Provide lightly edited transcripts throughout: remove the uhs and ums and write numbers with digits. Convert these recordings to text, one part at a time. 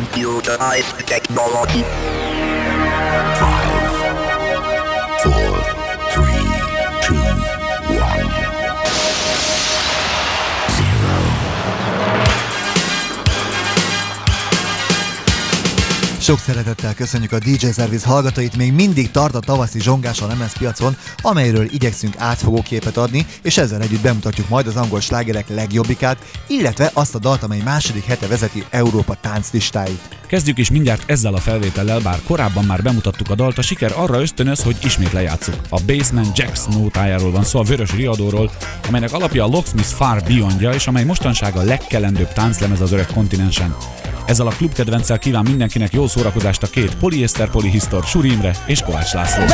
Computerized technology. 5, 4, 3, 2, 1, 0. Sok szeretettel köszönjük a DJ Service hallgatóit, még mindig tart a tavaszi zsongás a lemezpiacon, amelyről igyekszünk átfogó képet adni, és ezzel együtt bemutatjuk majd az angol slágerek legjobbikát, illetve azt a dalt, amely második hete vezeti Európa tánclistáit. Kezdjük is mindjárt ezzel a felvétellel, bár korábban már bemutattuk a dalt, a siker arra ösztönöz, hogy ismét lejátsszuk. A Basement Jacks nótájáról van szó, a vörös riadóról, amelynek alapja a Locksmith Far Beyondja, és amely mostanság a legkelendőbb tánclemez az öreg kontinensen. Ezzel a klubkedvenccel kíván mindenkinek jó szórakozást a két poliészter polihisztor, Suri Imre és Kovács László.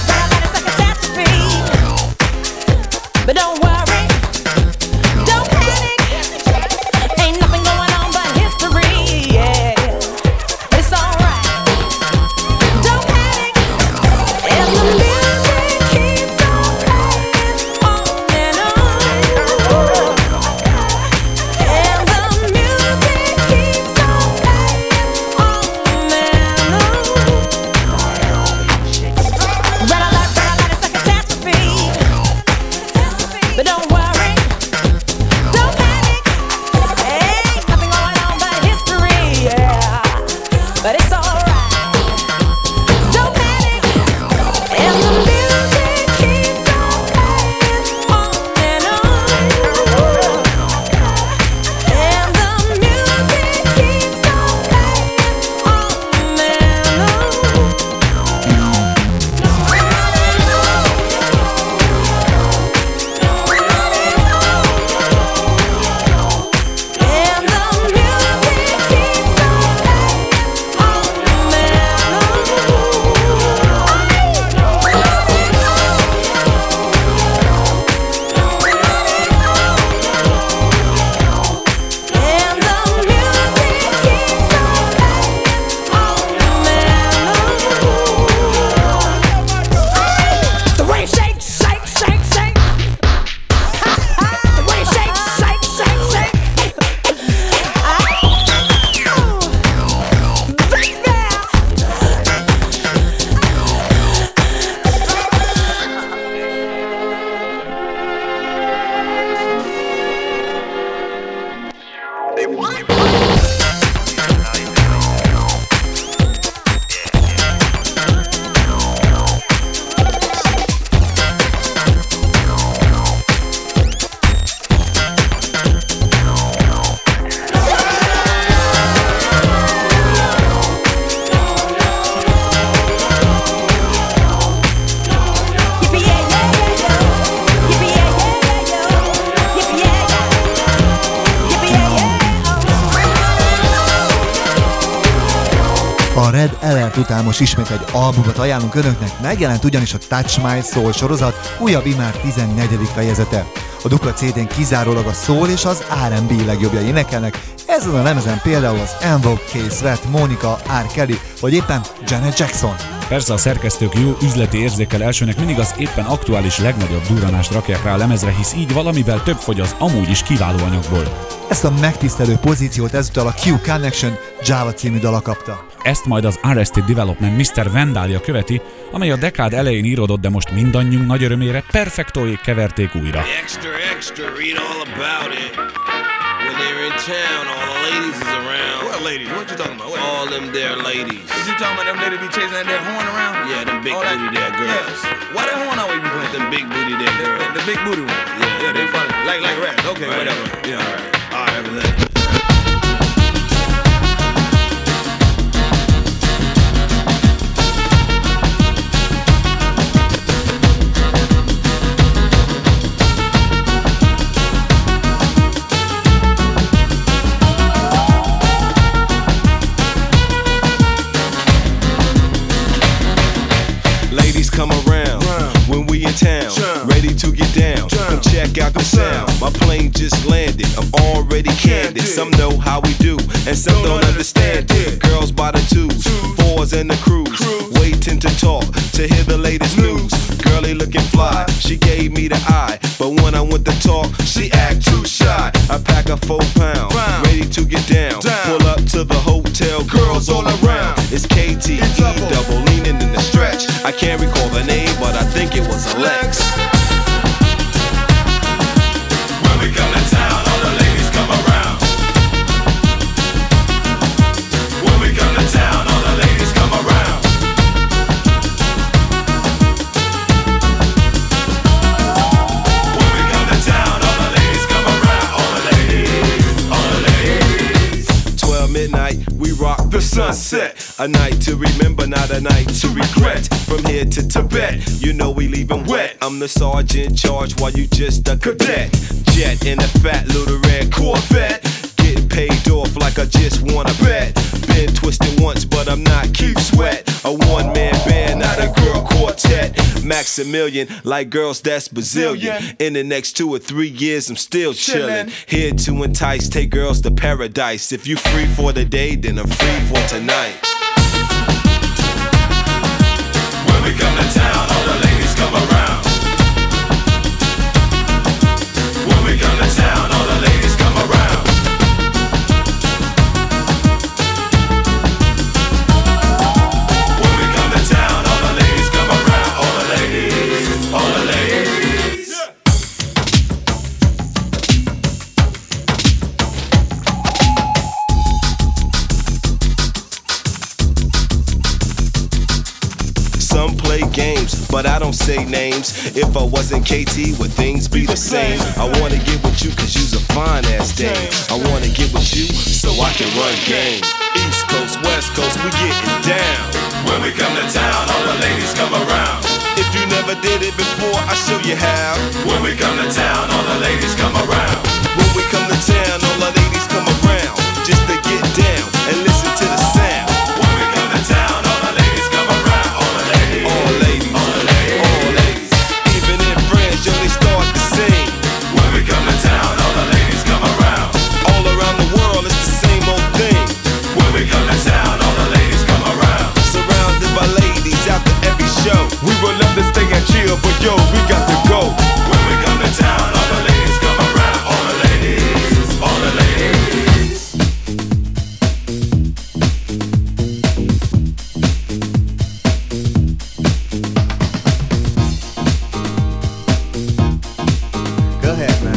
Után most ismét egy albumot ajánlunk önöknek, megjelent ugyanis a Touch My Soul sorozat újabb immár 14. fejezete. A dupla CD-n kizárólag a soul és az R&B legjobbjai énekelnek, ezen a lemezen például az En Vogue, K-Sweat, Monica, R. Kelly vagy éppen Janet Jackson. Persze a szerkesztők jó üzleti érzékkel elsőnek mindig az éppen aktuális legnagyobb durranást rakják rá a lemezre, hisz így valamivel több fogy az amúgy is kiváló anyagból. Ezt a megtisztelő pozíciót ezúttal a Q Connection Java című dala kapta. Ezt majd az Arrested Development Mr. Vandalia követi, amely a dekád elején íródott, de most mindannyiunk nagy örömére perfektóék keverték újra. Extra, extra, read all about it. When they're in town, all the ladies is around. What ladies? What you talking about? What? All them there ladies. What you talking about? Them ladies be chasing that horn around? Yeah, them big booty there girls. Yeah. Why that horn always be playing? Them big booty there girls. The big booty one. Yeah, they funny. Like rap. Okay, right. Whatever. Yeah, all right. All right, everything. Come around when we in town, ready to get down. Come check out the sound. My plane just landed. I'm already candid. Some know how we do, and some don't understand it. Girls by the twos, fours and the crews, waiting to talk to hear the latest news. Girlie looking fly, she gave me the eye, but when I went to talk, she act too shy. I pack a 4 pound, ready to get down. Pull up to the hotel, girl all around. It's KT, double leaning in the stretch. I can't recall the name, but I think it was Alex. When we come to town, all the ladies come around. When we come to town, all the ladies come around. When we come to town, all the ladies come around. All the ladies. 12 midnight, we rock the sunset. A night to remember, not a night to regret. From here to Tibet, you know we leaving wet. I'm the sergeant in charge while you just a cadet. Jet in a fat little red Corvette. Getting paid off like I just wanna bet. Been twisted once, but I'm not Keith Sweat. A one-man band, not a girl quartet. Maximilian, like girls that's Brazilian. In the next 2 or 3 years, I'm still chillin'. Here to entice, take girls to paradise. If you free for the day, then I'm free for tonight. When we come to town, all the ladies come around. When we come to town, all the ladies come around. When we come to town, all the ladies come around. All the ladies, all the ladies. Some play games, but I don't say names. If I wasn't KT, would things be the same? I wanna get with you cause you's a fine ass dame. I wanna get with you so I can run game. East Coast, West Coast, we getting down. When we come to town, all the ladies come around. If you never did it before, I show you how. When we come to town, all the ladies come around. When we come to town, all the ladies come around. Just to get down and listen to the sound. When we come to town, all the ladies come around. All the ladies, all ladies, all ladies, all ladies. Even in France, yo, they start to sing. When we come to town, all the ladies come around. All around the world, it's the same old thing. When we come to town, all the ladies come around. Surrounded by ladies after every show. We would love to stay and chill, but yo, we got to go. When we come to town, all the ladies come around. All the ladies, all the ladies. Go ahead, man.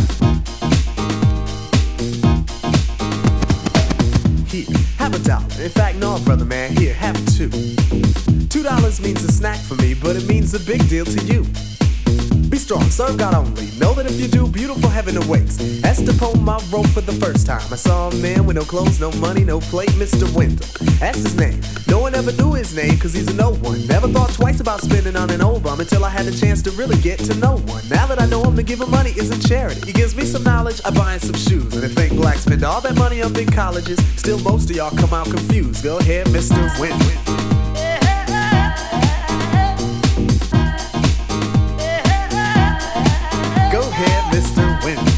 Here, have $1. In fact, no, brother, man. Here, have $2. $2 means a snack for me, but it means a big deal to you. Be strong, serve God only. Know that if you do, beautiful heaven awaits. That's the poem I wrote for the first time. I saw a man with no clothes, no money, no plate, Mr. Wendell. That's his name. No one ever knew his name, cause he's a no one. Never thought twice about spending on an old bum until I had the chance to really get to know one. Now that I know him, to give him money isn't charity. He gives me some knowledge, I buy him some shoes. And if think blacks spend all that money on big colleges, still most of y'all come out confused. Go ahead, Mr. Wendell. Go ahead, Mr. Wendell.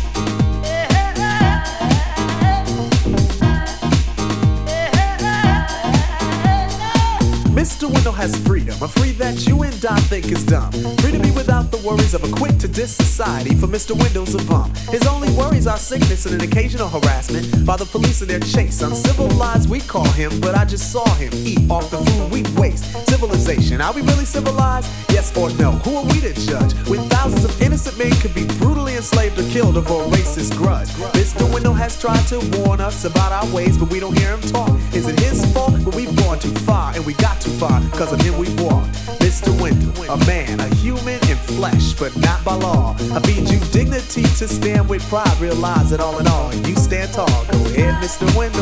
Mr. Wendell has freedom, a free that you and I think is dumb. Free to be without the worries of a quick to diss society, for Mr. Wendell's a bum. His only worries are sickness and an occasional harassment by the police in their chase. Uncivilized we call him, but I just saw him eat off the food we waste. Civilization, are we really civilized? Yes or no? Who are we to judge? When thousands of innocent men could be brutally enslaved or killed over a racist grudge. Mr. Wendell has tried to warn us about our ways, but we don't hear him talk. Is it his fault? But we've gone too far, and we got too far, cause of him we've walked. Mr. Wendell, a man, a human in flesh, but not by law. I feed you dignity to stand with pride, realize that all in all, you stand tall. Go ahead, Mr. Wendell.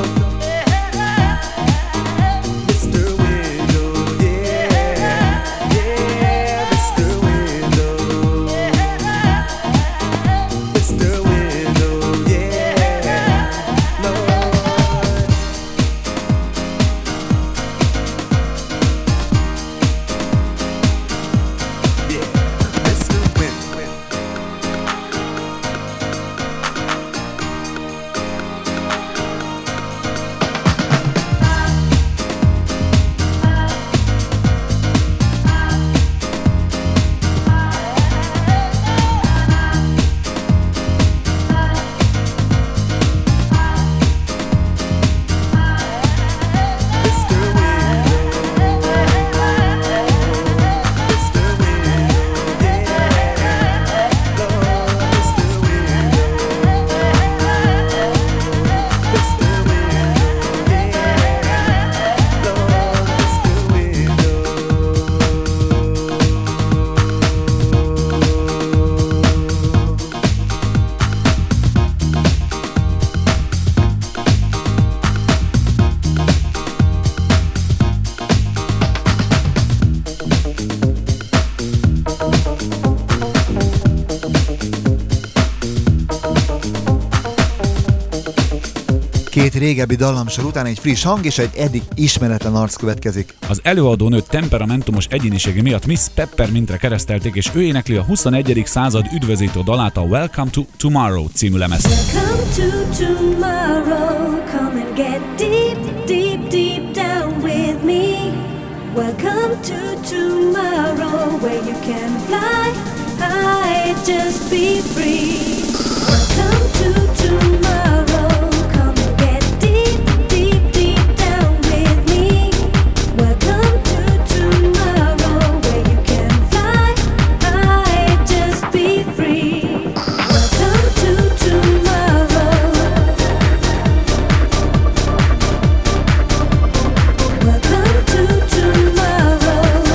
Mr. Wendell, yeah, yeah, Mr. Wendell. Mr. Wendell, yeah, Lord. Yeah, Mr. Wendell. régebbi dallamsor után egy friss hang és egy eddig ismeretlen arc következik. Az előadónő temperamentumos egyénisége miatt Miss Peppermintre keresztelték, és ő énekli a 21. század üdvözítő dalát, a Welcome to Tomorrow című lemezt. Welcome to tomorrow, come and get deep, deep, deep down with me. Welcome to tomorrow, where you can fly high, just be free. Welcome to tomorrow, come and get deep, deep, deep down with me. Welcome to tomorrow, where you can fly high, just be free. Welcome to tomorrow. Welcome to tomorrow.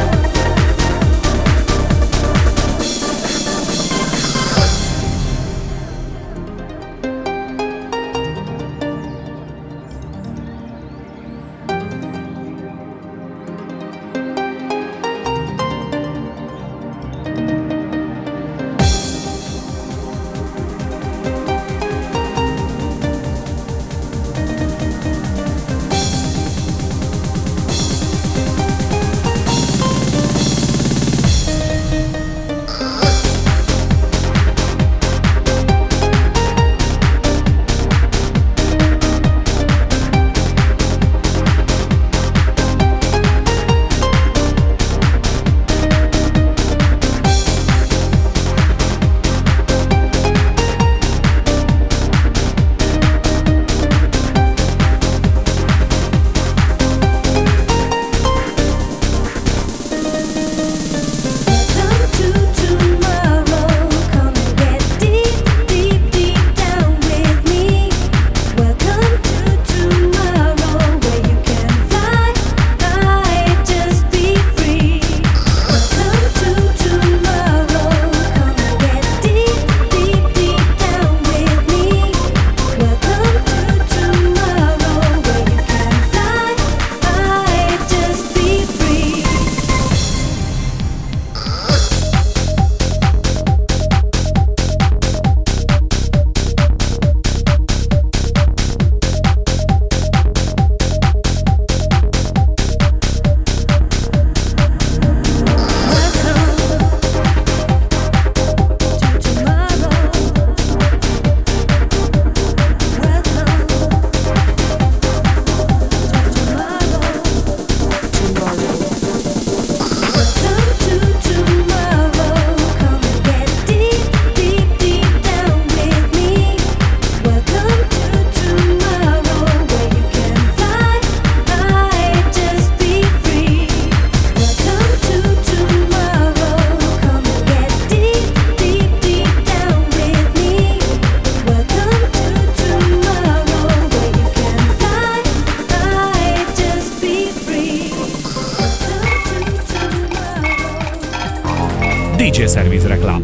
DJ Service reklám.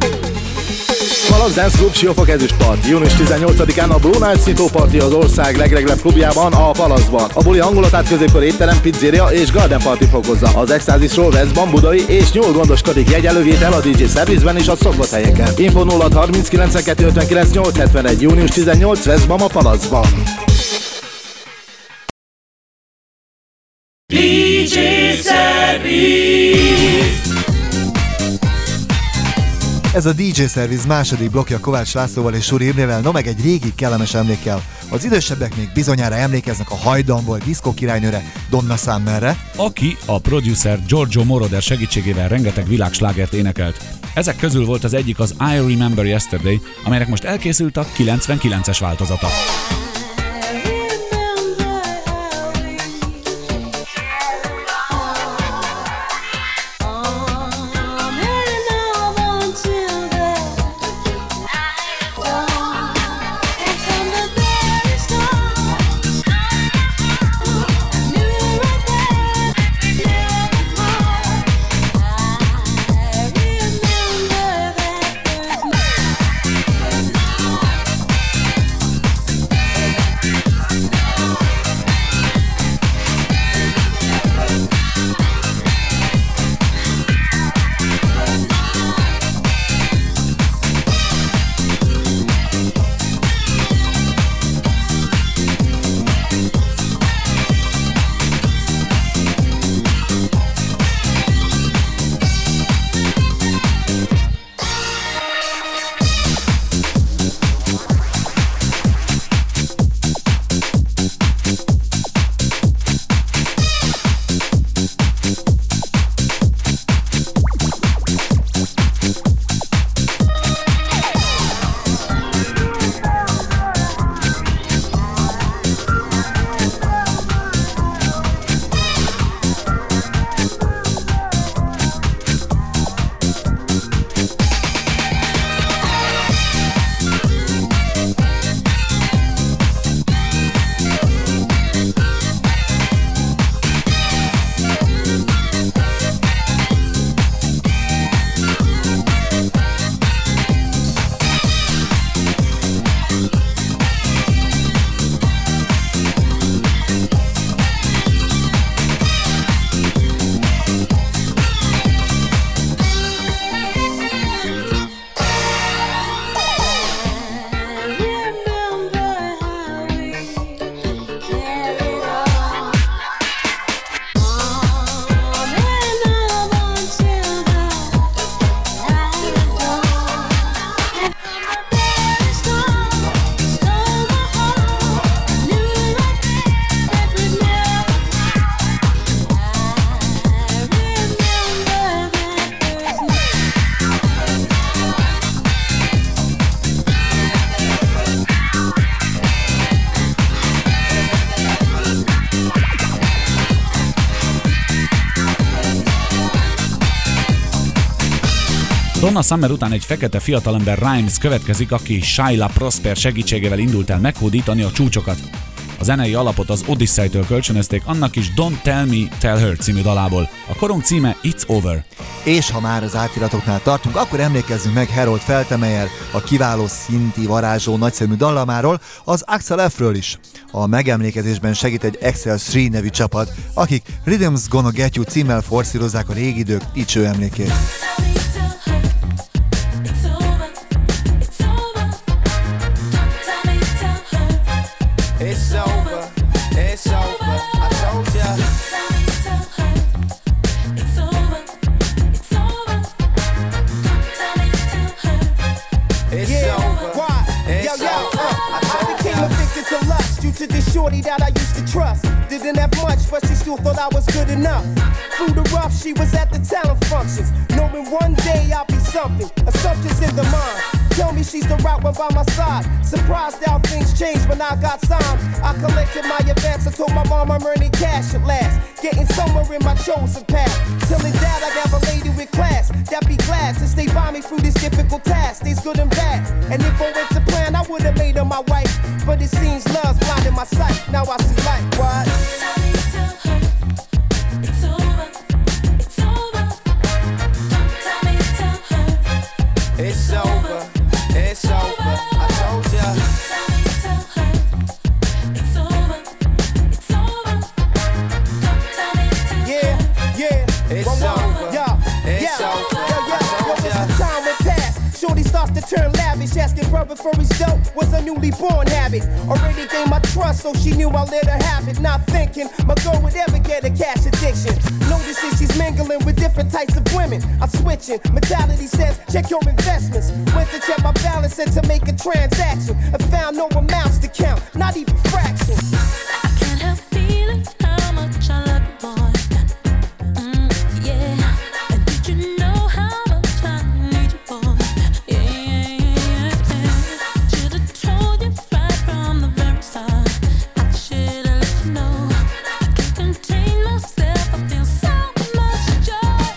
Palasz Dance Club Siófok Ezüstpart. Június 18-án a Blue Night Szintó Party az ország legreglebb klubjában, a Palaszban. A buli hangulatát középkor étterem, pizzéria és garden party fokozza. Az Extázisról Veszban, Budai és nyúl gondoskodik, jegyelővétel a DJ Service-ben és a szokott helyeken. Info 0 30 92 59 871. Június 18 Veszban, a Palaszban. DJ Service. Ez a DJ Service második blokkja Kovács Lászlóval és Suri Imrével, no meg egy régi kellemes emlékkel. Az idősebbek még bizonyára emlékeznek a hajdan volt diszkó királynőre, Donna Summerre, aki a producer Giorgio Moroder segítségével rengeteg világslágert énekelt. Ezek közül volt az egyik az I Remember Yesterday, amelynek most elkészült a 99-es változata. Donna Summer után egy fekete fiatalember Rhymes következik, aki Shyla Prosper segítségével indult el meghódítani a csúcsokat. A zenei alapot az Odyssey-től kölcsönözték, annak is Don't Tell Me, Tell Her című dalából. A korong címe It's Over. És ha már az átiratoknál tartunk, akkor emlékezzünk meg Harold Feltemeyer, a kiváló szinti varázsló nagyszemű dallamáról, az Axel F-ről is. A megemlékezésben segít egy Excel 3 nevű csapat, akik Rhythm's Gonna Get You címmel forszírozzák a régi idők dicső emlékét. It's over, it's over, I told ya. It's over, it's over. It's over. Why? It's over. I became addicted to lust due to this shorty that I used to trust. Didn't have much, but she still thought I was good enough. Through the rough, she was at the talent functions, knowing one day I'll be something. Assumptions in the mind. Tell me she's the right one by my side. Surprised how things changed when I got signed. I collected my advance. I told my mom I'm earning cash at last, getting somewhere in my chosen path. Telling dad I got a lady with class that be glad to stay by me through this difficult task. Days good and bad, and if I went to plan, I would have made her my wife. But it seems love's blinding my sight. Now I see light. What? It's over. It's over. Don't tell me, tell her. It's over. It's over, I told ya. Tell her. It's over, it's over. Don't tell me, tell her. Yeah, it's over, it's over. Yo, as the time went past, shorty starts to turn lavish, asking brother for his dough was a newly born habit. Already gained my trust, so she knew I let her have it. Not thinking my girl would ever get a cash addiction. Noticing she's mingling with different types of women. I'm switching, mentality says check your investments. Went to check my balance and to make a transaction, and found no amounts to count, not even fractions. I can't help feeling how much I love you, boy. Yeah. And did you know how much I need you, boy? Yeah. Should've told you right from the very start. I should've let you know. I can't contain myself. I feel so much joy.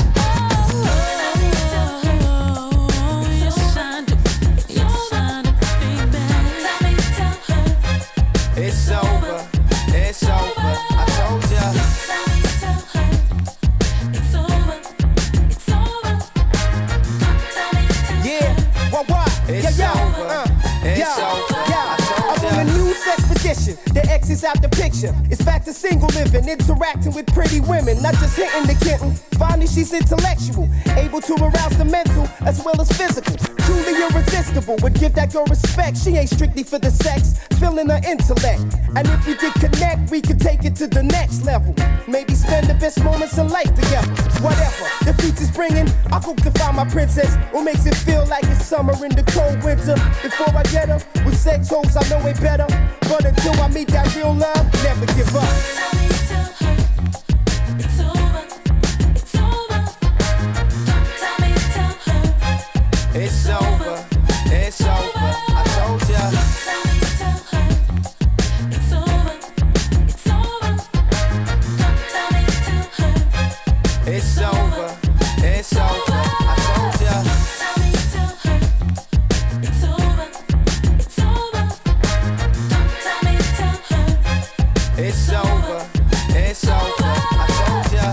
Yes, I do. Yes, I do, baby. Tell me, tell her. It's over. It's over. I told ya. Tell me, tell her. It's over. It's over. Tell me, tell her. Yeah. What? It's over. It's over. I'm on a news expedition. The X is out the picture. It's back to single living, interacting with pretty women, not just hitting the kitten. Finally, she's intellectual, able to arouse the mental as well as physical. Truly irresistible, would give that girl respect. She ain't strictly for the sex, feeling her intellect. And if we could connect, we could take it to the next level. Maybe spend the best moments in life together. Whatever the future's bringing, I hope to find my princess. What makes it feel like it's summer in the cold winter? Before I get her, with sex hoes I know it better. But until I meet that real love, never give up. Tell me, tell her. It's over. It's over. Don't tell me, tell her. It's over. It's over. I told ya. Tell me, tell her. It's over. It's over. Don't tell me, tell her. It's over. It's over. I told ya. Tell me, tell her. It's over. It's over. Don't tell me, tell her. It's over. It's over. I told ya.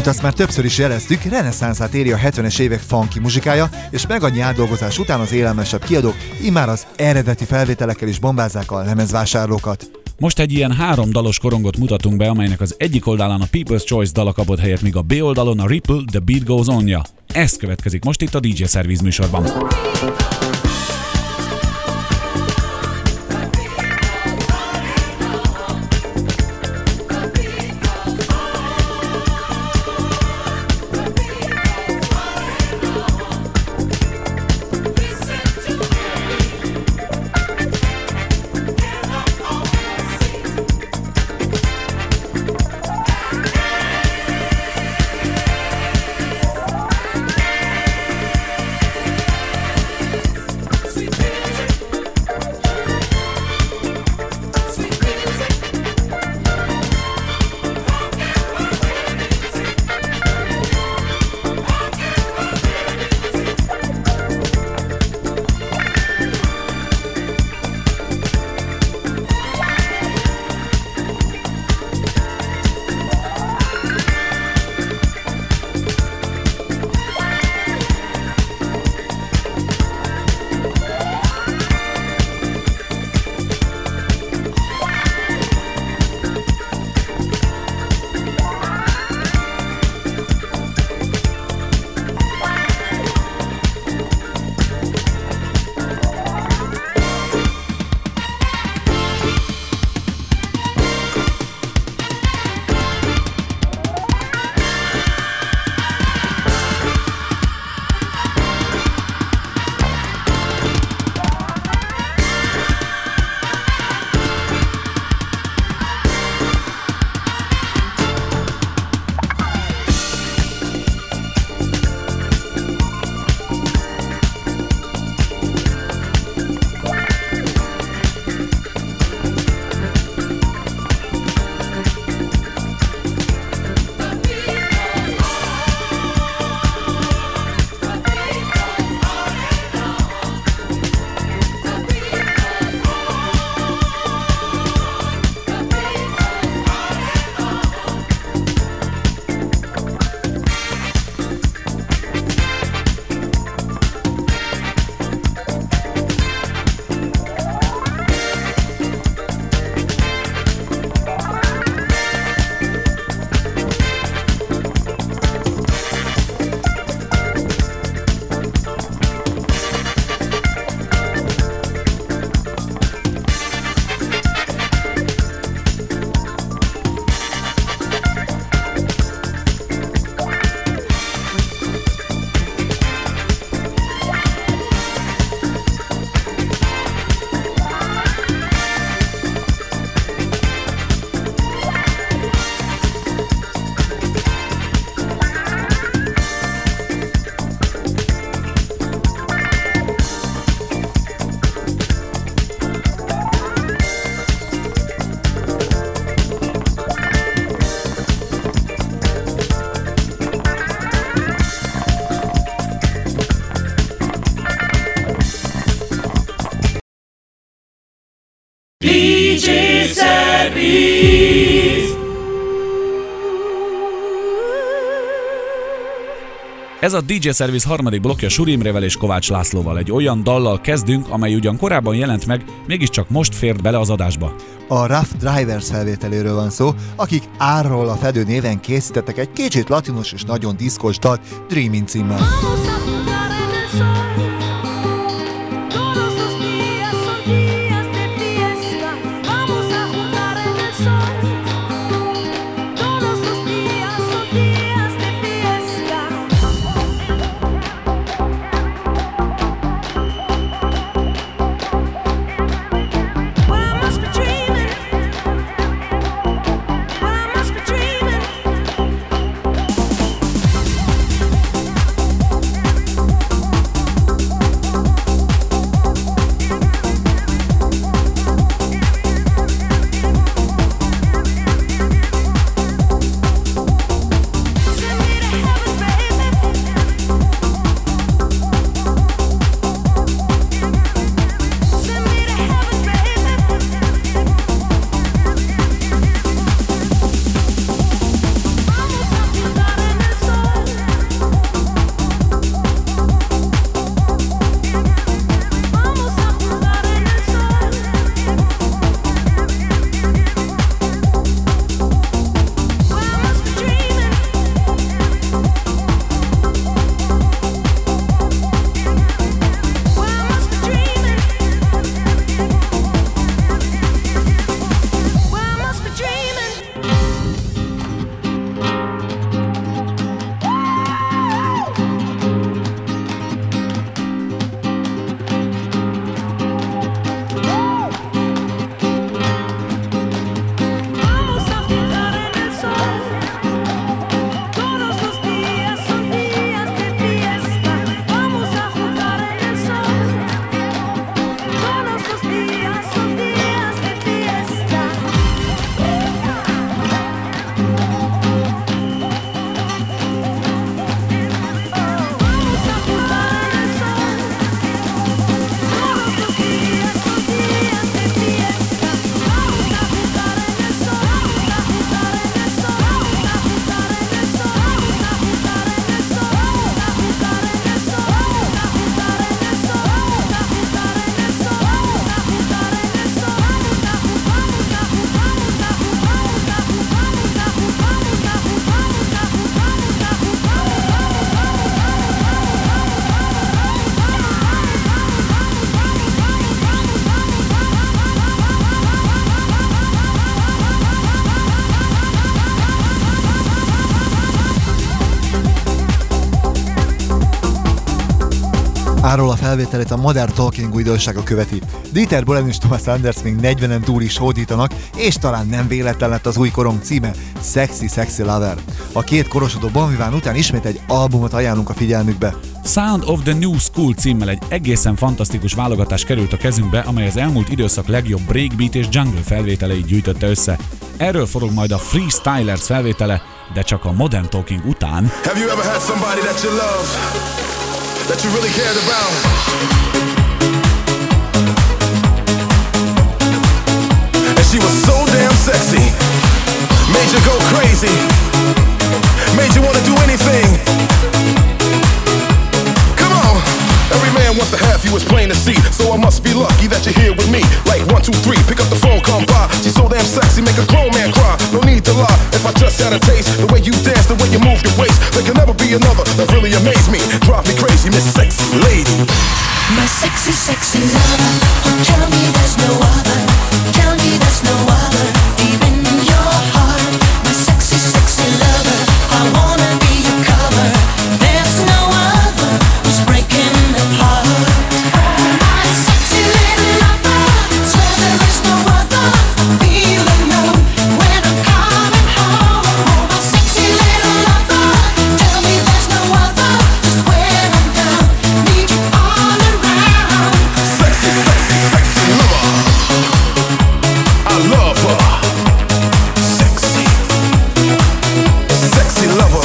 azt már többször is jeleztük, reneszánszát éri a 70-es évek funky muzsikája, és meg annyi átdolgozás után az élelmesebb kiadók immár az eredeti felvételekkel is bombázzák a lemezvásárlókat. Most egy ilyen 3 dalos korongot mutatunk be, amelynek az egyik oldalán a People's Choice dala kapott helyet, míg a B oldalon a Ripple, The Beat Goes On-ja. Ez következik most itt a DJ Service műsorban. Ez a DJ Service harmadik blokkja Suri Imrével és Kovács Lászlóval. Egy olyan dallal kezdünk, amely ugyan korábban jelent meg, mégiscsak most fért bele az adásba. A Rough Drivers felvételéről van szó, akik Árról a Fedő néven készítettek egy kicsit latinos és nagyon diszkos dalt Dreaming címmel. máról a felvételét a Modern Talking újdonsága követi. Dieter Bohlen és Thomas Anders még 40-en túl is hódítanak, és talán nem véletlen lett az új korong címe, Sexy Lover. A két korosodó Bon Vivant után ismét egy albumot ajánlunk a figyelmükbe. Sound of the New School címmel egy egészen fantasztikus válogatás került a kezünkbe, amely az elmúlt időszak legjobb breakbeat és jungle felvételeit gyűjtötte össze. Erről forog majd a Freestylers felvétele, de csak a Modern Talking után. Have you ever had somebody that you love, that you really cared about? And she was so damn sexy, made you go crazy, made you wanna do anything. Come on, every man wants to have you, it's plain to see. So I must be lucky that you're here with me. Like 1, 2, 3, pick up the phone, come by. She's so damn sexy, make a grown man cry. No need to lie, if I just had a taste, the way you dance, the way you move your waist, there can never be another that really amazed me. Drive me crazy, Miss Sexy Lady. My sexy lover, oh tell me there's no other, tell me there's no other, deep in your heart. My sexy lover, I wanna be your cover, there's no other who's breaking the heart. My sexy little lover, swear there is no other, feel alone when I'm coming home. My sexy little lover, tell me there's no other, just when I'm down, need you all around. Sexy lover, I love her. Sexy lover.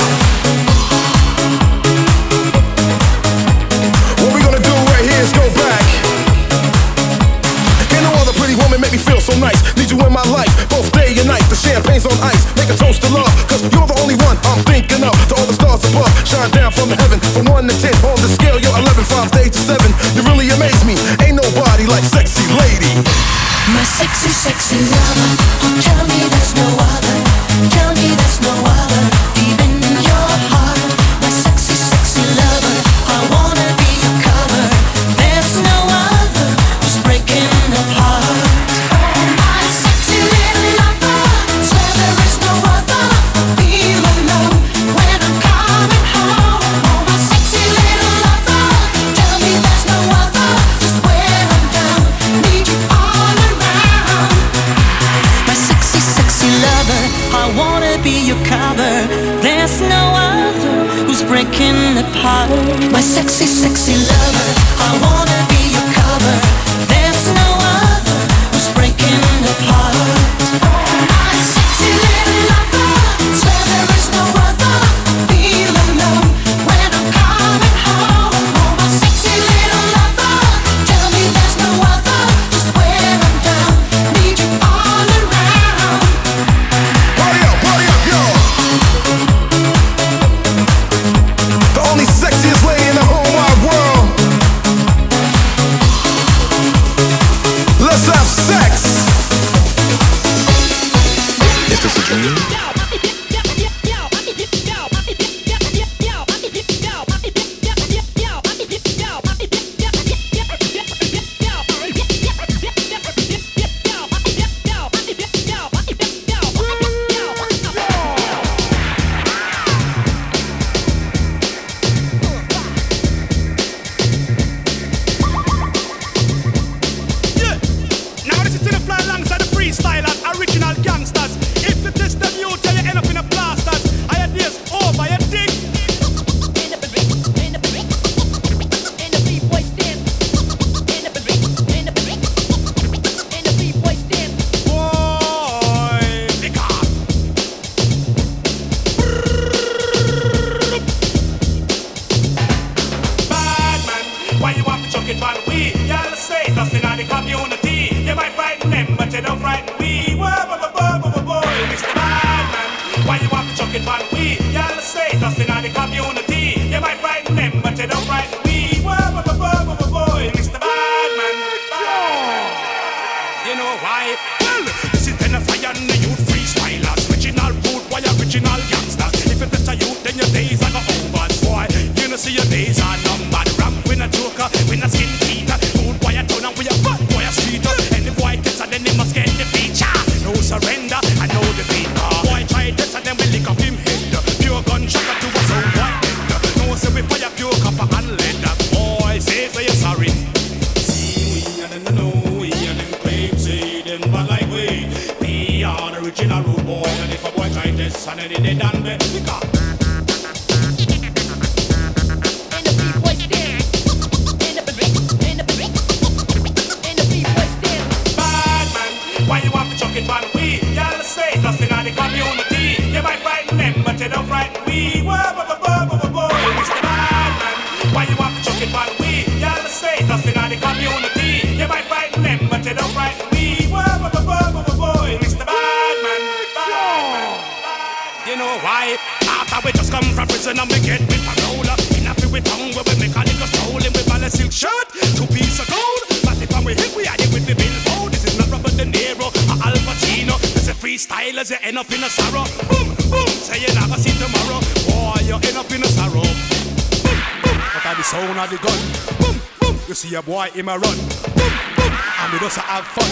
What we gonna do right here is go back. Can't no other pretty woman make me feel so nice. Need you in my life, both day and night. The champagne's on ice, make a toast to love, cause you're the only one I'm thinking of. To all the stars above, shine down from heaven. From 1 to 10, on the scale you're 11, 5 days to 7. You really amaze me, ain't nobody like Sexy Lady. My sexy lover, oh tell me there's no other, tell me there's no other, deep in your heart. My sexy lover, I wanna be your cover, there's no other who's breaking the heart. My sexy little lover, swear there is no other, feel alone when I'm coming home. My sexy little lover, tell me there's no other, just when I'm down, need you all around. My sexy lover, I wanna be your cover, there's no other who's breaking apart. My sexy lover, I wanna be your cover, there's no other who's breaking apart. My sexy little lover, swear there is no other, feel alone when I'm coming home. My sexy little lover, tell me there's no other, just when I'm down, need you all around. Party up, yo! The only sexiest lady in the whole wide world. Let's have sex! Is this a dream? Now this is to the fly alongside the freestylers, original gangsters. If you test them, you tell you end up in a blasters. I had this over your dick. Boy, big up. Bad man, why you have to chuck it on we? Y'all say that's in the community. You might frighten them, but you don't frighten we. Boy, Mr. Badman, why you have to chuck it on we? Y'all say that's in the community. You might frighten them, but you don't frighten we. Boy, Mr. Badman. You know why? Well, this is then a fire and the youth freestylers. Original food, boy, original gangsters. If you test a youth, then your days are go over, boy. You know see your days are numbered. Ramp with a joker, with a skin teeth. done there. Why you want to chuck it on we? Y'all the say nothing on the community. You might frighten them, but you don't frighten we. Mr. Badman. Why you want to chuck it on we? Y'all the say nothing on the community. You might frighten them, but you don't frighten we. Mr. Badman. You know why? After we just come from prison and we get with parole. In a with tongue where we make a little stroll in with a silk shirt, 2 pieces of gold. But if I'm with him, we are it with the billboard. This is not Robert De Niro or Al Pacino. This is freestylers, you end up in a sorrow. Boom, boom, say you're not gonna see tomorrow. Boy, you end up in a sorrow. Boom, boom, but at the sound of the gun. Boom, boom, you see a boy in a run. Boom, boom, and we just have fun.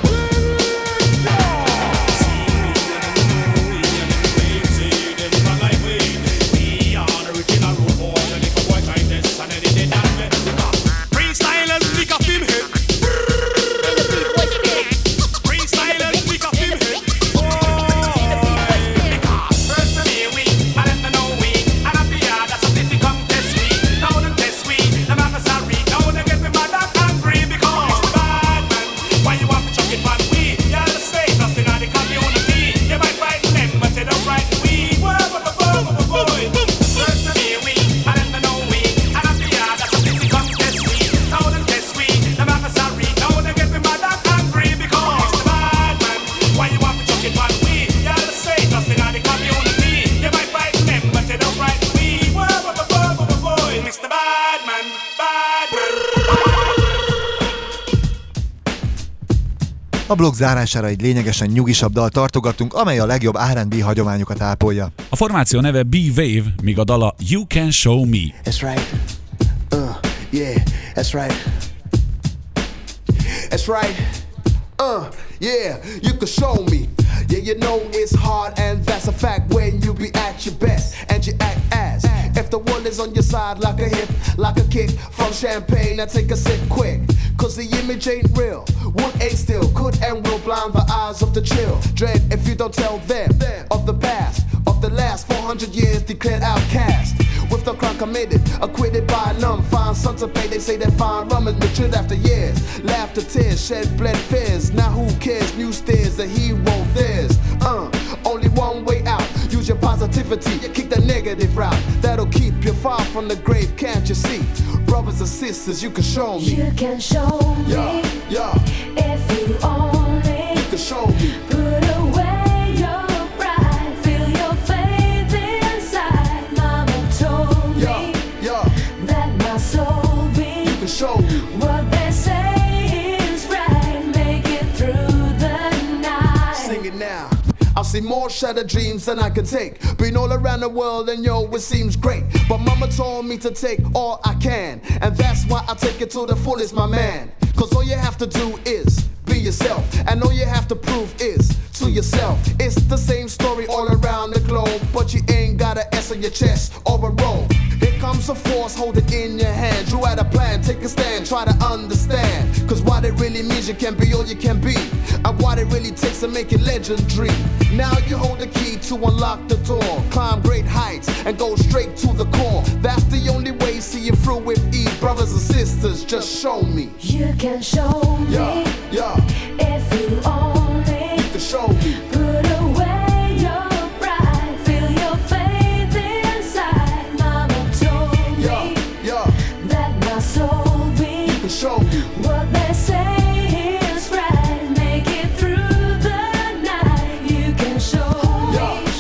A blog zárására egy lényegesen nyugisabb dal tartogattunk, amely a legjobb R&B hagyományokat ápolja. A formáció neve B-Wave, míg a dala You Can Show Me. That's right. Yeah, that's right. That's right. Yeah, you can show me. Yeah, you know it's hard and that's a fact when you be at your best and you act as if the world is on your side like a hip, like a kick from champagne. Now take a sip quick, cause the image ain't real. Wood ain't still, could and will blind the eyes of the chill. Dread if you don't tell them of the past, of the last 400 years declared outcast. With the crime committed, acquitted by none. Fine sons of pay, they say that fine rum is matured after years. Laughter, tears, shed, bled fears. Now who cares? New stairs, the hero there's. Only one way out. Use your positivity, kick the negative route. That'll keep you far from the grave, can't you see? Brothers and sisters, you can show me. You can show me. Yeah. If you only. You can show me. Put away your pride. Feel your faith inside. Mama told me. That my soul be. You can show me. What they say is right. Make it through the night. Sing it now. I've seen more shattered dreams than I can take. Been all around the world and yo, it seems great. But mama told me to take all I can. And that's why I take it to the fullest, my man. Cause all you have to do is be yourself. And all you have to prove is to yourself. It's the same story all around the globe. But you ain't got an S on your chest or a roll. Here comes a force, hold it in your hand. Drew out a plan, take a stand, try to understand. Cause what it really means, you can be all you can be. And what it really takes to make it legendary. Now you hold the key to unlock the door. Climb great heights and go straight to the core. That's the only way, see it through with ease. Brothers and sisters, just show me. You can show me. Yeah. If you only. You can show me. Put away your pride. Feel your faith inside. Mama told me. That my soul be. You can show me. What they say is right. Make it through the night. You can show me.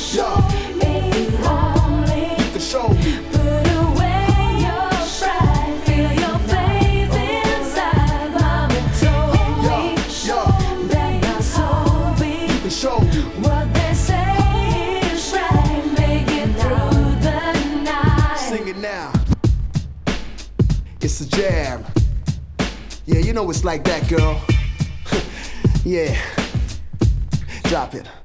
If you only. You can show me. Put away your pride. Feel your faith inside. Mama told me. That my soul be. You can show me. What they say is right. Make it through the night. Sing it now. It's a jam. Yeah, you know it's like that, girl. Yeah. Drop it.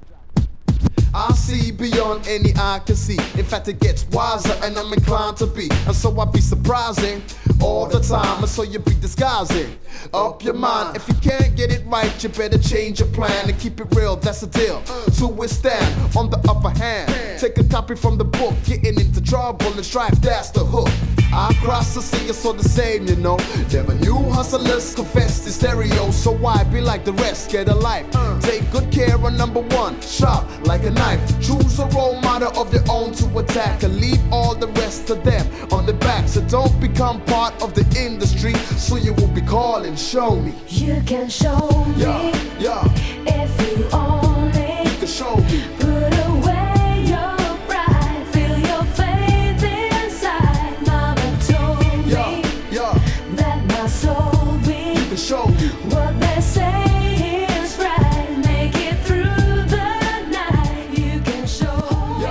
I see beyond any eye can see. In fact, it gets wiser, and I'm inclined to be. And so I be surprising all the time, and so you be disguising up your mind. If you can't get it right, you better change your plan and keep it real, that's the deal. To withstand, on the upper hand, take a copy from the book, getting into trouble and strife, that's the hook. I cross the sea, it's all the same, you know. Never knew hustlers confess the stereo, so why be like the rest? Get a life, take good care of number one, sharp like a knife. Choose a role model of your own to attack and leave all the rest of them on the back. So don't become part of the industry, so you will be calling, show me. You can show me, if you only you can show me. Put away your pride, feel your faith inside. Mama told me that my soul beat. You can show me what they say is right. Make it through the night. You can show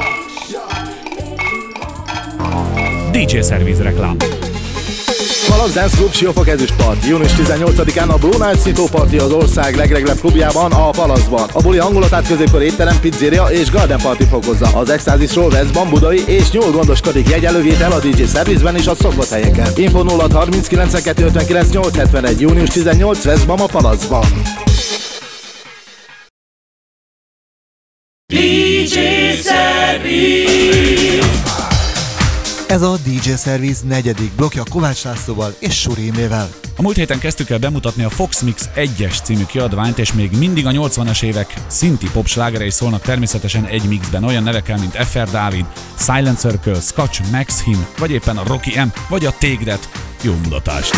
me. DJ Service reklám. Palasz Dance Club Siófok ezüstpart. Június 18-án a Blue Nights nyitóparti az ország legreglebb klubjában, a Palaszban. A buli hangulatát középkor étterem, pizzeria és garden party fokozza. Az Extázisról Veszban, Budai és Nyúl gondoskodik, jegyelővétel a DJ Service-ben és a szokott helyeken. Info 0 30 92 59 871. Június 18 Veszban, a Palaszban. DJ Service. Ez a DJ Service 4. blokkja Kovács Lászlóval és Surémével. A múlt héten kezdtük el bemutatni a Fox Mix 1-es című kiadványt, és még mindig a 80-as évek szinti pop slágerei szólnak természetesen egy mixben, olyan nevekkel, mint FR Dávid, Silent Circle, Scotch, Max Him, vagy éppen a Rocky M, vagy a Take That. Jó mulatást!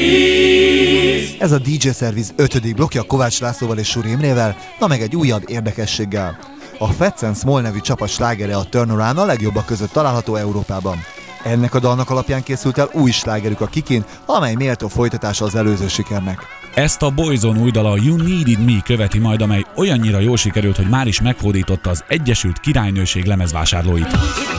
Ez a DJ Service 5. blokkja Kovács Lászlóval és Suri Imrével, na meg egy újabb érdekességgel. A Fats and Small nevű csapat slágere a Turnaround a legjobbak között található Európában. Ennek a dalnak alapján készült el új slágerük a Kikin, amely méltó folytatása az előző sikernek. Ezt a Boyzone új dala You Needed Me követi majd, amely olyannyira jól sikerült, hogy már is meghódította az Egyesült Királynőség lemezvásárlóit.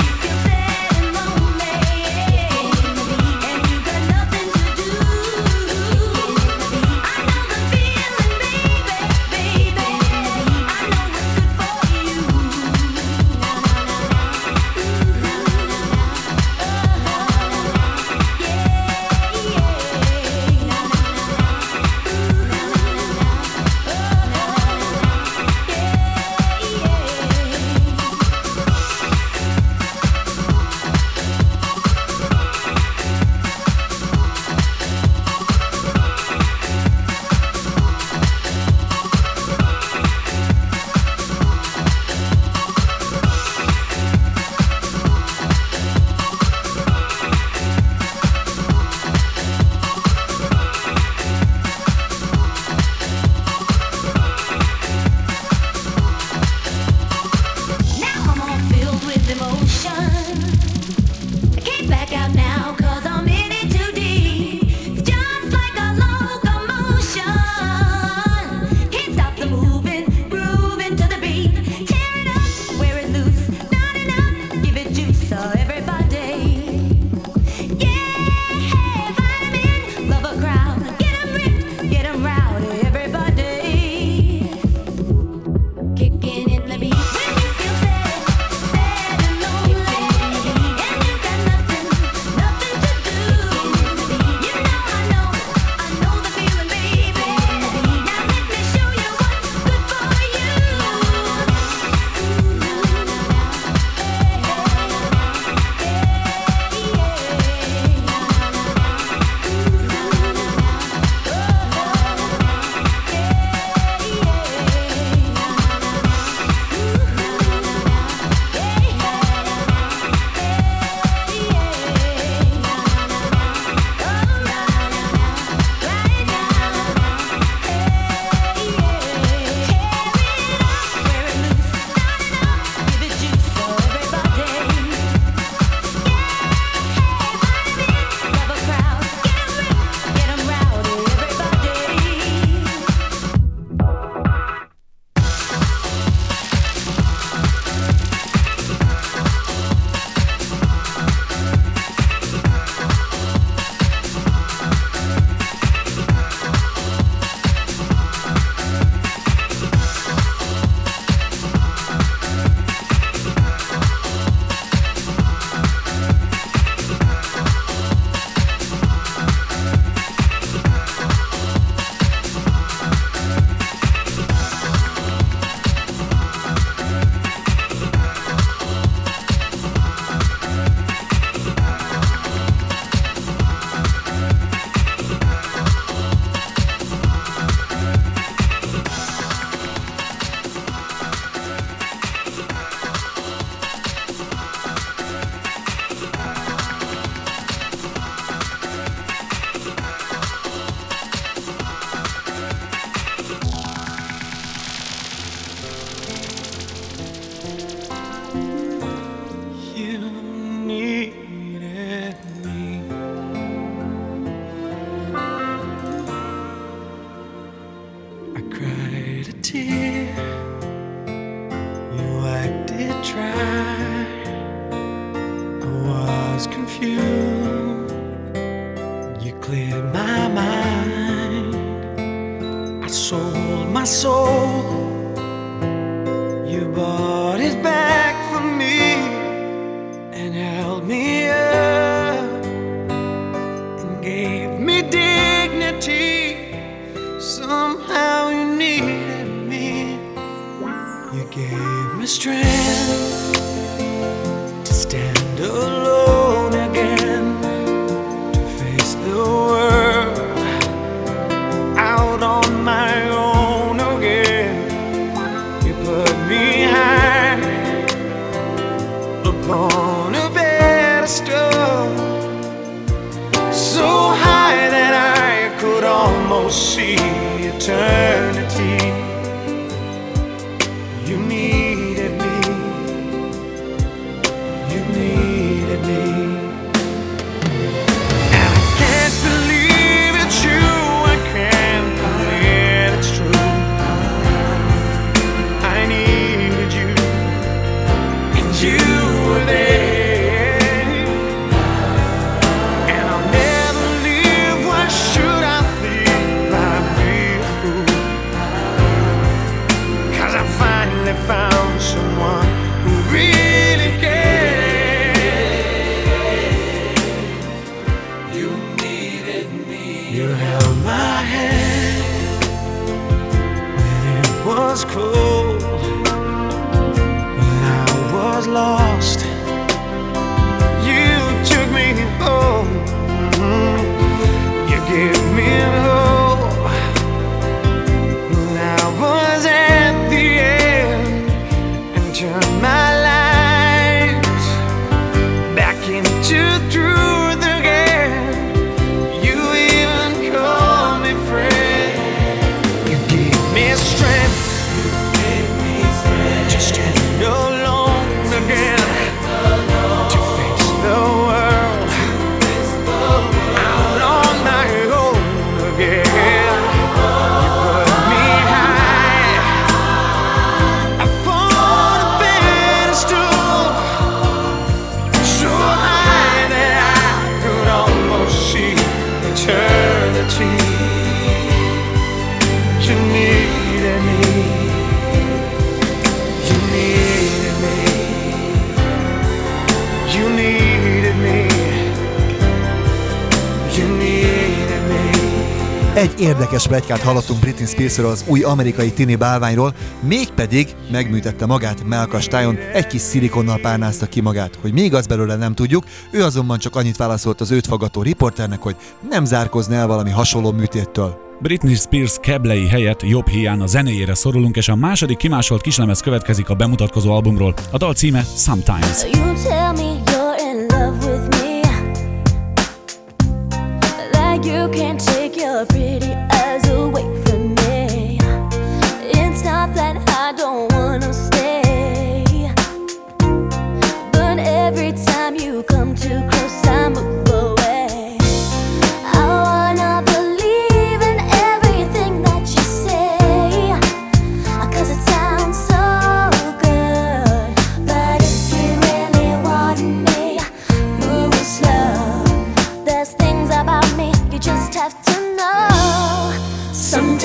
On a pedestal, so high that I almost see eternity. You needed me. You needed me. And I can't believe it's you. I can't believe it's true. I needed you, and you were there. And I'll never leave. Why should I leave? I'd be a fool. 'Cause I finally found someone who really cared. You needed me. You held my hand when it was cold, when I was lost. You took me home. You gave me hope when I was at the end, and turned my life back into truth again. You even called me friend. You gave me strength. You gave me strength to stand alone again, to face the world out on my own again. You put me high upon a pedestal, so high that I could almost see eternity. You needed me. You needed me. You needed me. You needed me. Egy érdekes pletykát hallottunk Britney Spearsről, az új amerikai tini bálványról, mégpedig megműtette magát mellkastájon, egy kis szilikonnal párnázta ki magát. Hogy mi igaz belőle, nem tudjuk, ő azonban csak annyit válaszolt az őt faggató riporternek, hogy nem zárkozna el valami hasonló műtéttől. Britney Spears keblei helyett jobb híján a zenéjére szorulunk, és a második kimásolt kislemez következik a bemutatkozó albumról. A dal címe Sometimes. You tell me you're in love with me, like you can't take your pretty eyes away from me. It's not that I don't wanna stay, but every time you come too close I move away. I wanna believe in everything that you say, 'cause it sounds so good. But if you really want me, move slow. There's things about me you just have to know. Some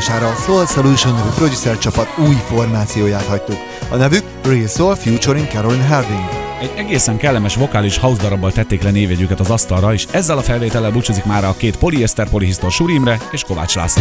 hallgatására a Soul Solution nevű producer csapat új formációját hagytuk. A nevük Real Soul featuring Caroline Harding. Egy egészen kellemes vokális house darabbal tették le névjegyüket az asztalra, és ezzel a felvétellel búcsúzik már a két Polyester Polihisztor Suri Imre és Kovács László.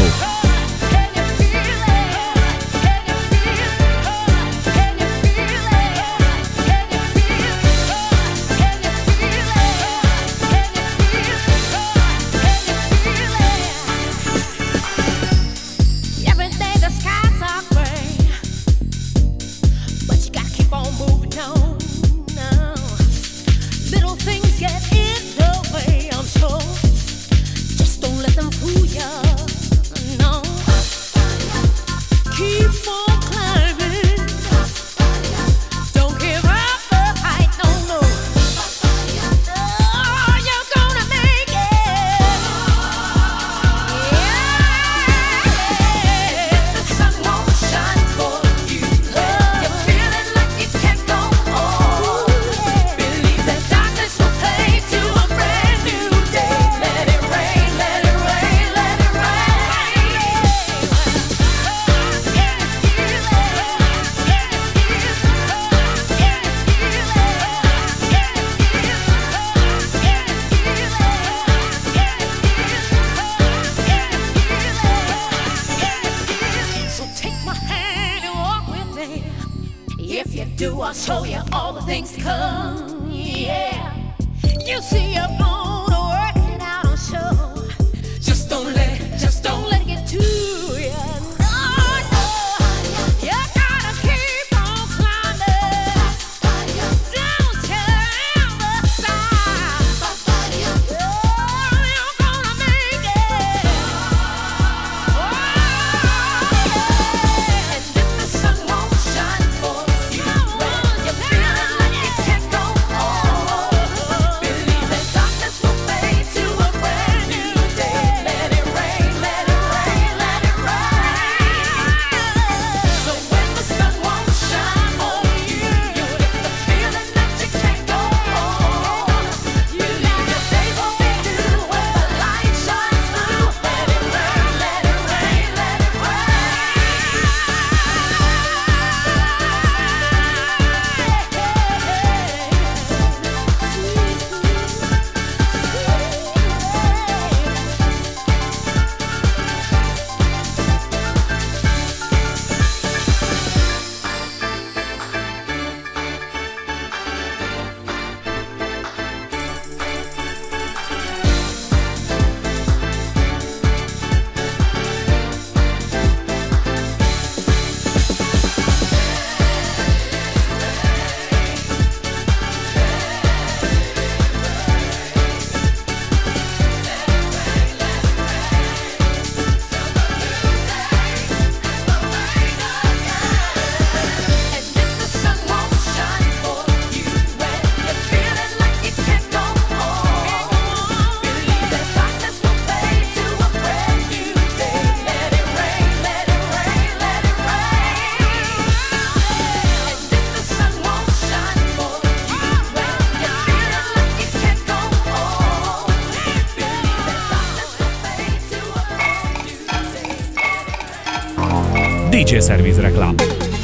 DJ Service reklám.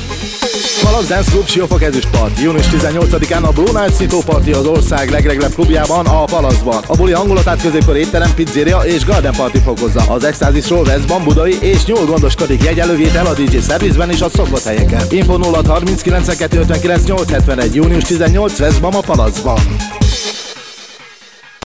Palasz Dance Club Siófok ezüstpart. Június 18-án a Blue Nights nyitóparti az ország legreglebb klubjában, a Palaszban. A buli hangulatát középkor étterem, pizzeria és garden party fokozza. Az Extázisról Veszban, Budai és nyúl gondoskodik, jegyelővétel a DJ Service-ben és a szokott helyeken. Info 06 39 259 871. Június 18 Veszban, a Palaszban.